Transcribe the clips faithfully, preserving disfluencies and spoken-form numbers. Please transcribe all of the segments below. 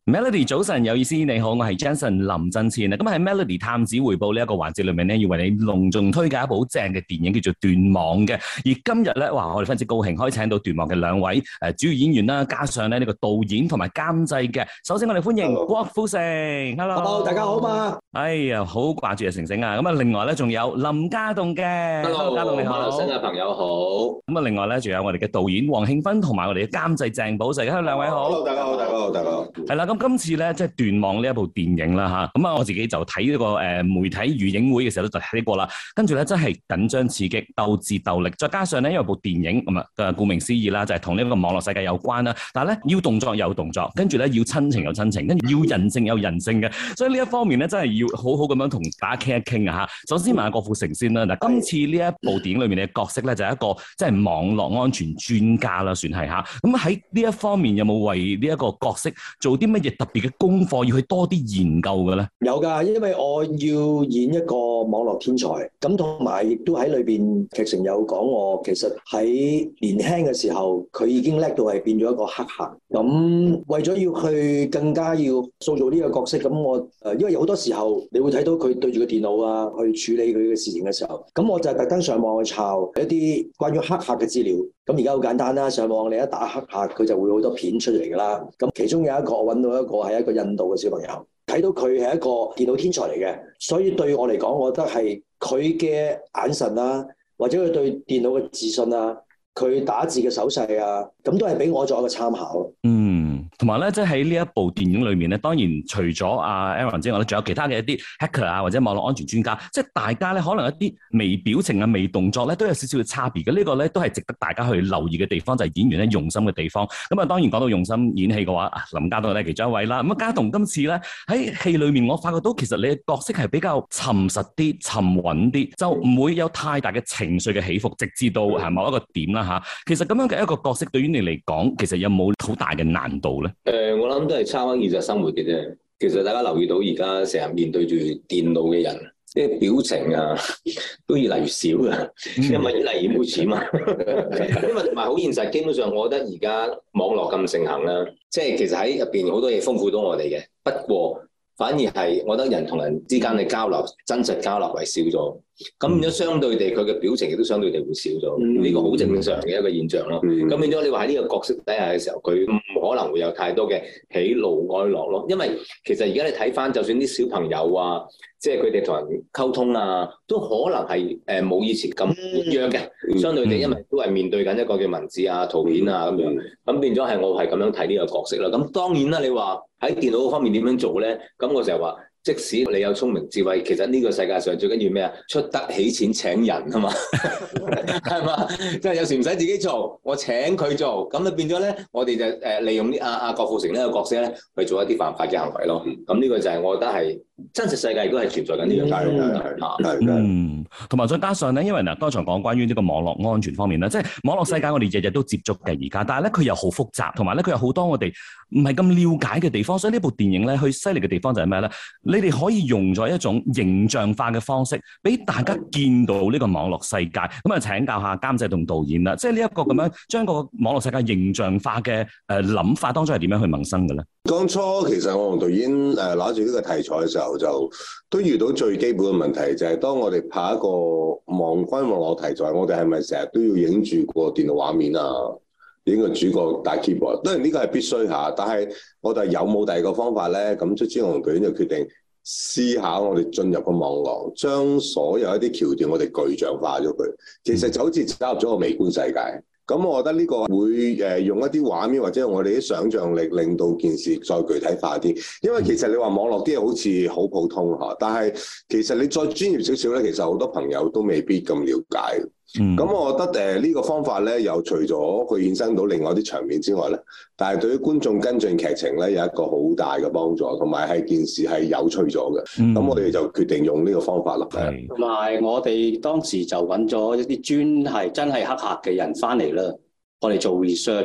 Melody 早晨有意思，你好，我係 Jensen 林振前啊。咁喺 Melody 探子回報呢一個環節裏面咧，要為你隆重推介一部好正嘅電影，叫做《斷網》嘅。而今日咧，哇，我哋非常之高興可以請到《斷網》嘅兩位誒主要演員啦，加上咧呢個導演同埋監製嘅。首先我哋歡迎郭富城 ，Hello，, Hello 大家好嘛。 哎呀，好掛住啊成成啊。咁啊，另外咧仲有林家棟嘅 ，Hello， 家棟你好， 馬來西亞朋友好。 咁啊，另外咧仲有我哋嘅導演黃慶芬同埋我哋嘅監製鄭寶石，Hello兩位好。 Hello，大家好，大家好，大家好。 係啦，咁今次咧即係斷網呢一部電影啦吓，咁啊我自己就睇呢個誒媒體預映會嘅時候都就睇過啦，跟住咧真係緊張刺激、鬥智鬥力，再加上咧因為部電影咁啊，誒顧名思義啦，就係同呢個網絡世界有關啦，但係咧要動作有動作，跟住咧要親情有親情，跟住要人性有人性嘅，所以呢一方面咧真係要好好咁樣同大家傾一傾啊吓。首先問下郭富城先啦，嗱今次呢一部電影裏面嘅角色咧就係一個即係網絡安全專家啦，算係吓。咁喺呢一方面有冇為呢一個角色做啲乜嘢特別嘅功課，要去多啲研究嘅咧？ 有㗎，因為我要演一個網絡天才，咁同埋亦都喺裏邊劇情有講我其實喺年輕嘅時候，佢已經叻到係變咗一個黑客。咁為咗要去更加要塑造呢個角色，咁我誒因為有好多時候你會睇到佢對住個電腦啊，去處理佢嘅事情嘅時候，咁我就特登上網去抄一啲關於黑客嘅資料。咁而家好簡單啦，上網你一打黑客，佢就會好多片出嚟㗎啦。咁其中有一個我揾到一個係一個印度嘅小朋友，睇到佢係一個電腦天才嚟嘅，所以對我嚟講，我覺得係佢嘅眼神啊，或者佢對電腦嘅自信啊，佢打字嘅手勢啊，咁都係俾我作一個參考。 嗯，同埋咧，即係喺呢一部電影裏面咧，當然除咗阿 Aaron 之外咧，仲有其他嘅一啲 hacker 啊，或者網絡安全專家，即係大家咧可能一啲微表情啊、微動作咧，都有少少嘅差別嘅。這個、呢個咧都係值得大家去留意嘅地方，就係、是、演員咧用心嘅地方。咁啊，當然講到用心演戲嘅話，林家棟咧其中一位啦。咁啊，家棟今次咧喺戲裏面，我發覺到其實你嘅角色係比較沉實啲、沉穩啲，就唔會有太大嘅情緒嘅起伏，直至到係某一個點啦嚇。其實咁樣嘅一個角色對於你嚟講，其實有冇好大嘅難度咧？ 誒、呃，我諗都係參考現實生活嘅啫。其實大家留意到而家成日面對住電腦嘅人，即係表情啊，都越嚟越少㗎，因為越嚟越冇錢嘛。因為同埋好現實，基本上我覺得而家網絡咁盛行啦，即係其實喺入邊好多嘢豐富到我哋嘅。不過反而係我覺得人同人之間嘅交流，真實交流係少咗。咁變咗相對地，佢嘅表情亦都相對地會少咗。呢、嗯、個好正常嘅一個現象咯。咁、嗯、變咗你話喺呢個角色底下嘅時候，佢唔可能會有太多嘅喜怒哀樂咯。因為其實而家你睇翻，就算啲小朋友啊，即係佢哋同人溝通啊，都可能係誒冇以前咁活躍嘅。嗯、相對地，因為都係面對緊一個嘅文字啊、圖片啊咁樣。咁、嗯、變咗係我係咁樣睇呢個角色啦。咁當然啦，你話喺電腦方面點樣做咧？咁我成日話。即使你有聰明智慧，其實呢個世界上最緊要咩啊？出得起錢請人啊嘛，係嘛？即係有時唔使自己做，我請佢做，咁就變咗咧，我哋就誒利用啲阿阿郭富城呢個角色咧去做一啲犯法嘅行為咯。咁呢個就係我覺得係真實世界亦都係存在緊呢樣嘢。 嗯，同埋再加上咧，因為嗱，剛才講關於呢個網絡安全方面咧，即係網絡世界我哋日日都接觸嘅而家，但係咧佢又好複雜，同埋咧佢有好多我哋唔係咁了解嘅地方，所以呢部電影咧，佢犀利嘅地方就係咩咧？你哋可以用咗一種形象化嘅方式，俾大家見到呢個網絡世界。咁啊，請教下監製同導演啦，即係呢一個咁樣將個網絡世界形象化嘅誒諗法當中係點樣去萌生嘅咧？ 當初其實我同導演誒攞住呢個題材嘅時候，就都遇到最基本嘅問題，就係當我哋拍一個網關網絡題材，我哋係咪成日都要影住個電腦畫面啊？影個主角大 keyboard，當然呢個係必須下，但係我哋有冇第二個方法咧？咁卒之我同導演就決定思考，我哋進入個網絡，將所有一啲橋段我哋具象化咗佢。其實就好似走入咗個微觀世界。咁我覺得呢個會誒用一啲畫面或者用我哋啲想像力，令到件事再具體化啲。因為其實你話網絡啲嘢好似好普通嚇，但係其實你再專業少少咧，其實好多朋友都未必咁了解。咁、嗯、我覺得誒呢個方法咧，又除咗佢衍生到另外啲場面之外咧，但係對於觀眾跟進劇情咧有一個好大嘅幫助，同埋係件事係有趣咗嘅。咁、嗯、我哋就決定用呢個方法咯。係。 同埋我哋當時就揾咗一啲專係真係黑客嘅人翻嚟啦，我哋做 research。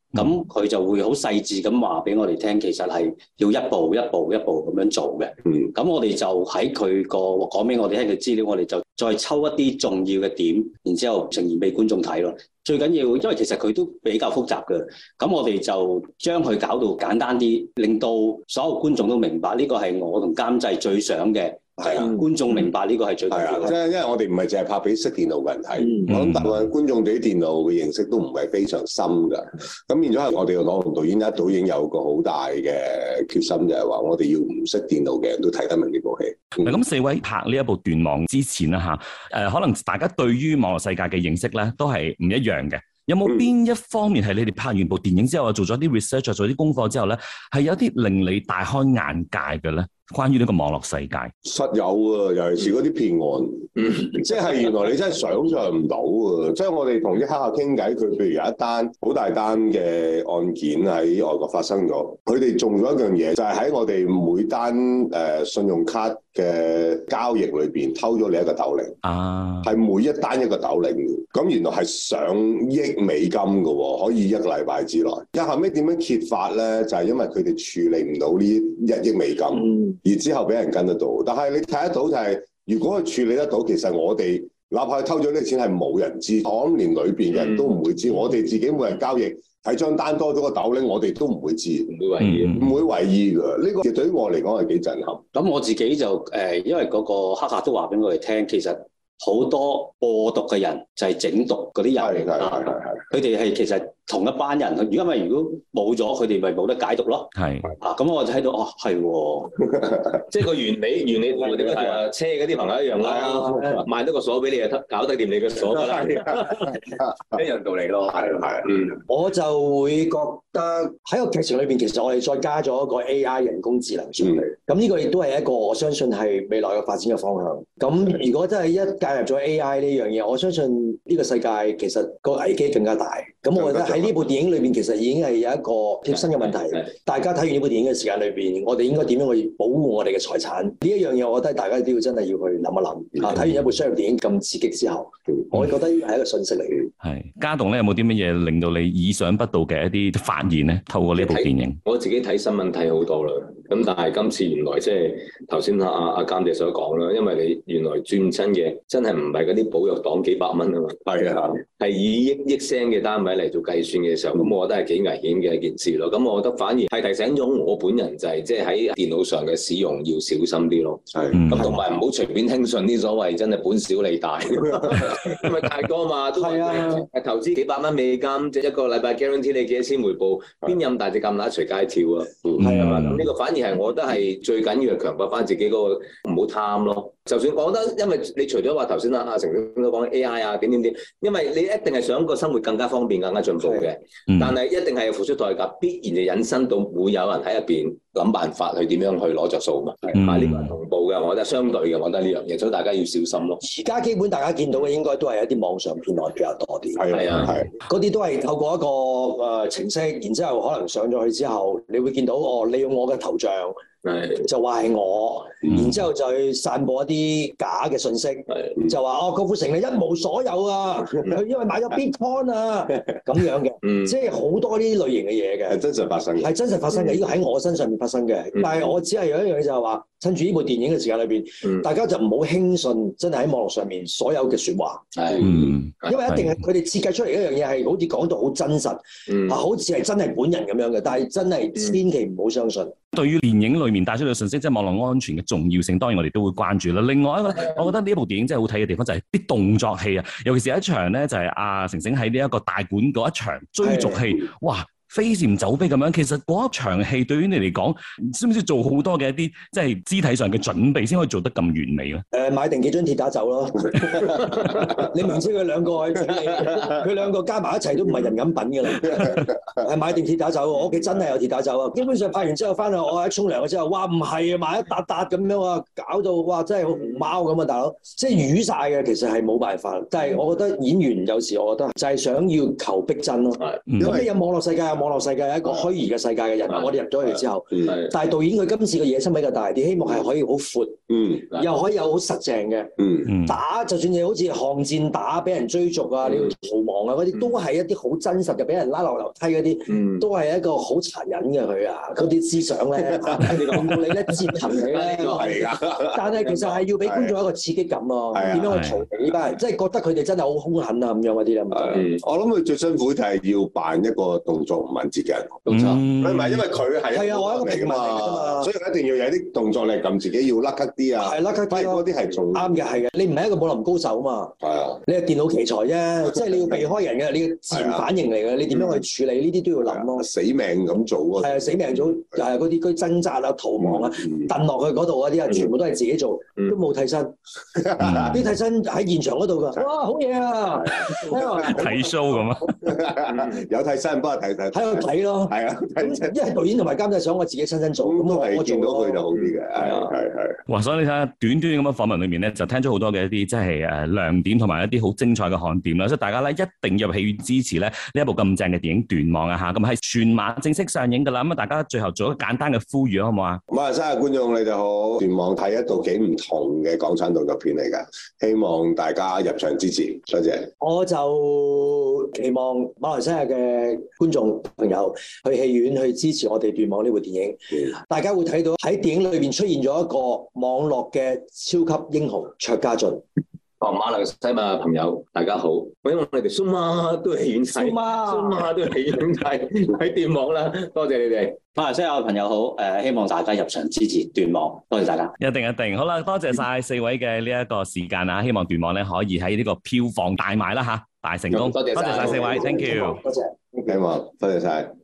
咁佢就會好細緻咁話俾我哋聽，其實係要一步一步一步咁樣做嘅。嗯，咁我哋就喺佢個講俾我哋聽嘅資料，我哋就再抽一啲重要嘅點，然之後呈現俾觀眾睇咯。最緊要，因為其實佢都比較複雜嘅，咁我哋就將佢搞到簡單啲，令到所有觀眾都明白呢個係我同監製最想嘅。係啊，觀眾明白呢個係最重要嘅。 即係因為我哋唔係淨係拍俾識電腦嘅人睇， 嗯、 我諗大部分觀眾對啲電腦嘅認識都唔係非常深㗎。咁變咗係我哋朗豪導演一早已經有個好大嘅決心，就係話我哋要唔識電腦嘅人都睇得明呢部戲。 咁、嗯、四位拍呢一部斷網之前啦嚇，誒可能大家對於網絡世界嘅認識咧都係唔一樣嘅。有冇邊一方面係你哋拍完部電影之後，做咗啲 research， 做啲功課之後咧，係有啲令你大開眼界嘅咧？關於呢個網絡世界， 實有啊，尤其是嗰啲騙案，嗯、即係原來你真係想像唔到啊！即係我哋同啲黑客傾偈，佢譬如有一單好大單嘅案件喺外國發生咗，佢哋做咗一樣嘢，就係、是、喺我哋每單誒、呃、信用卡嘅交易裏邊偷咗你一個豆零啊，係每一單一個豆零嘅，咁原來係上億美金嘅喎，可以一個禮拜之內。咁後尾點樣揭發咧？就係、是、因為佢哋處理唔到呢一億美金。嗯而之後俾人跟得到，但係你睇得到就係、是，如果佢處理得到，其實我哋哪怕偷咗呢啲錢係冇人知，我諗連裏邊嘅人都唔會知，嗯、我哋自己每日交易睇張單多咗個豆咧，我哋都唔會知，唔會為意，唔、嗯、會為意㗎。呢、這個對於我嚟講係幾震撼。 咁我自己就誒、呃，因為嗰個黑客都話俾我哋聽，其實好多播毒嘅人就係整毒嗰啲人，係係係係，佢哋係其實。同一班人，如果咪如果冇咗佢哋，咪冇得解讀咯。係啊，咁我就睇到哦，係喎， 即係個原理，原理同我哋嗰條車嗰啲朋友一樣啦。賣多個鎖俾你，就搞得掂你嘅鎖㗎啦，一樣道理咯。係係，嗯， 我就會覺得喺個劇情裏邊，其實我哋再加咗一個 A I 人工智能上去。咁呢、嗯、個亦都係一個我相信係未來嘅發展嘅方向。咁如果真係一介入咗 A I 呢樣嘢，我相信呢個世界其實個危機更加大。咁我覺得喺呢部電影裏邊，其實已經係有一個貼身嘅問題。大家睇完呢部電影嘅時間裏邊，我哋應該點樣去保護我哋嘅財產？呢一樣嘢，我覺得大家都要真係要去諗一諗。啊，睇完一部商業電影咁刺激之後，我覺得呢係一個訊息嚟嘅。係家棟咧，有冇啲乜嘢令到你意想不到嘅一啲發現咧？透過呢部電影， 我自己睇新聞睇好多啦。咁但係今次原來即係頭先阿阿阿監製所講啦，因為你原來轉親嘅真係唔係嗰啲保育黨幾百蚊啊嘛，係啊，係以億億聲嘅單位嚟做計算嘅時候，咁我覺得係幾危險嘅一件事咯。咁我覺得反而係提醒咗我本人就係即係喺電腦上嘅使用要小心啲咯。係，咁同埋唔好隨便輕信啲所謂真係本小利大，因為太多嘛。係啊，投資幾百蚊美金，即係一個禮拜 guarantee 你幾多千回報，邊有咁大隻蛤乸隨街跳啊？係啊，咁呢個反而係我覺得係最緊要係強化翻自己嗰個唔好貪咯。就算我覺得，因為你除咗話頭先阿阿成都講 A I 啊點點點，因為你一定係想個生活更加方便、更加進步嘅，嗯、但係一定係要付出代價，必然就引申到會有人喺入邊諗辦法去點樣去攞着數嘛。係、嗯，呢個係同步嘅，我覺得相對嘅，我覺得呢樣嘢，所以大家要小心咯。 而家基本大家見到嘅應該都係一啲網上騙案比較多啲。 係啊，係。 嗰啲都係透過一個誒程式，然之後可能上咗去之後，你會見到哦，利用我嘅頭像。係就話係我，嗯、然之後就去散播一啲假嘅信息，嗯、就話哦郭富城你一無所有啊，佢、嗯、因為買咗 Bitcoin 啊咁樣嘅，嗯、即係好多呢啲類型嘅嘢嘅， 係真實發生嘅， 係真實發生嘅，呢個喺我身上面發生嘅，嗯、但係我只係有一樣嘢就係話，趁住呢部電影嘅時間裏邊，嗯、大家就唔好輕信真係喺網絡上面所有嘅説話，係，嗯、因為一定係佢哋設計出嚟一樣嘢係好似講到好真實，嗯、啊好似係真係本人咁樣嘅，但係真係千祈唔好相信。 對於電影裏面帶出嘅信息，即係網絡安全嘅重要性，當然我哋都會關注啦。另外一個咧，我覺得呢一部電影真係好睇嘅地方就係啲動作戲啊，尤其是有一場咧就係阿成成喺呢一個大館嗰一場追逐戲，哇！飛檐走壁咁樣，其實嗰一場戲對於你嚟講，需唔需要做好多嘅一啲即係肢體上嘅準備，先可以做得咁完美咧？誒、 呃，買定幾張鐵打走咯。你明知佢兩個去整你，佢兩個加埋一齊都唔係人咁品㗎啦。係買定鐵打走，我屋企真係有鐵打走啊！基本上拍完之後翻去，我一沖涼嘅之後，哇唔係啊，買一笪笪咁樣啊，搞到哇真係好熊貓咁啊，大佬，即係瘀晒嘅，其實係冇辦法。但係我覺得演員有時我覺得就係想要求逼真咯。咁你有網絡世界有網絡世界係一個虛擬嘅世界嘅人，我哋入咗去之後，但係導演佢今次嘅野心比較大啲，希望係可以好闊，嗯，又可以有好實淨嘅，嗯，打就算你好似巷戰打，俾人追逐啊，你要逃亡啊嗰啲，都係一啲好真實嘅，俾人拉落樓梯嗰啲，都係一個好殘忍嘅佢啊，嗰啲思想咧，令到你咧折騰你咧，但係其實係要俾觀眾一個刺激感咯，點樣去逃避呢班人，即係覺得佢哋真係好兇狠啊咁樣嗰啲咧。 我諗佢最辛苦就係要扮一個動作唔敏捷嘅人，冇錯，唔係因為佢係係啊，我一個平民嚟㗎嘛，所以一定要有啲動作力，撳自己要甩咳啲啊，係甩咳啲嗰啲係做啱嘅，係嘅。你唔係一個武林高手啊嘛，係啊，你係電腦奇才啫，即係你要避開人嘅，你嘅自然反應嚟嘅，你點樣去處理呢啲都要諗咯。死命咁做啊，係啊，死命做，係嗰啲佢掙扎啊、逃亡啊、蹬落去嗰度嗰啲啊，全部都係自己做，都冇替身，啲替身喺現場嗰度㗎，哇，好嘢啊！ 睇 show 咁啊， 有替身幫我睇睇， 喺度睇咯，係啊，因為導演同埋監製想我自己親身做，咁都係見到佢就好啲嘅，係啊，係係。 哇！所以你睇下短短咁嘅訪問裏面咧，就聽咗好多嘅一啲即係誒亮點同埋一啲好精彩嘅看點啦，所以大家咧一定要入戲院支持咧呢一部咁正嘅電影《斷網》啊嚇，咁係全馬正式上映㗎啦，咁啊大家最後做一個簡單嘅呼籲好唔好啊？ 馬來西亞觀眾你哋好，《斷網》係一部幾唔同嘅港產動作片嚟㗎，希望大家入場支持，多謝。 我就期望馬來西亞嘅觀眾朋友去戲院去支持我哋《斷網》呢部電影，嗯、大家會睇到喺電影裏邊出現咗一個網絡嘅超級英雄卓家俊。 哦，馬來西亞朋友大家好，因為我哋蘇媽都係戲院睇，蘇媽都係戲院睇喺斷網啦，多謝你哋。 馬來西亞嘅朋友好，誒、呃，希望大家入場支持斷網，多謝大家。 一定一定，好啦，多謝晒四位嘅呢一個時間啊，希望斷網咧可以喺呢個票房大賣啦吓，大成功。多謝晒四位 ，thank you。 多謝， 希望多謝晒。